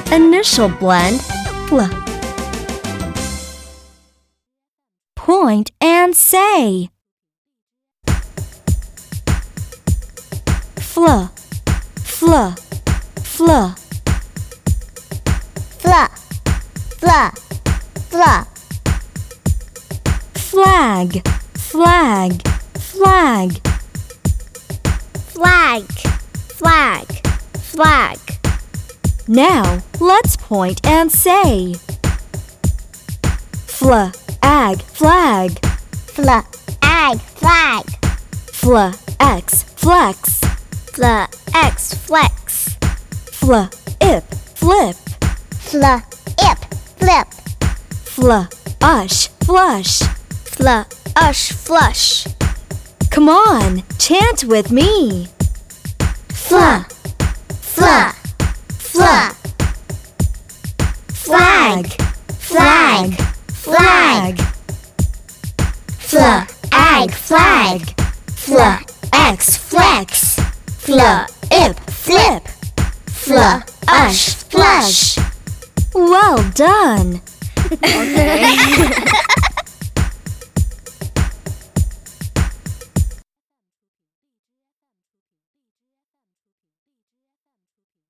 Initial blend, fl. Point and say. Fl, fl, fl. Fl, fl, fl. Flag, flag, flag. Flag, flag, flag. Now, let's point and say. Flag, flag. Flag, flag. Flex, flex. Flex, flex. Flip, flip. Flip, flip. Flush, flush. Flush, flush. Come on, chant with me. Fla, fla, fla. Flag, flag, flag. Flag, flag. Flex, flex. Flip, flip. Flush, flush. Well done. Okay.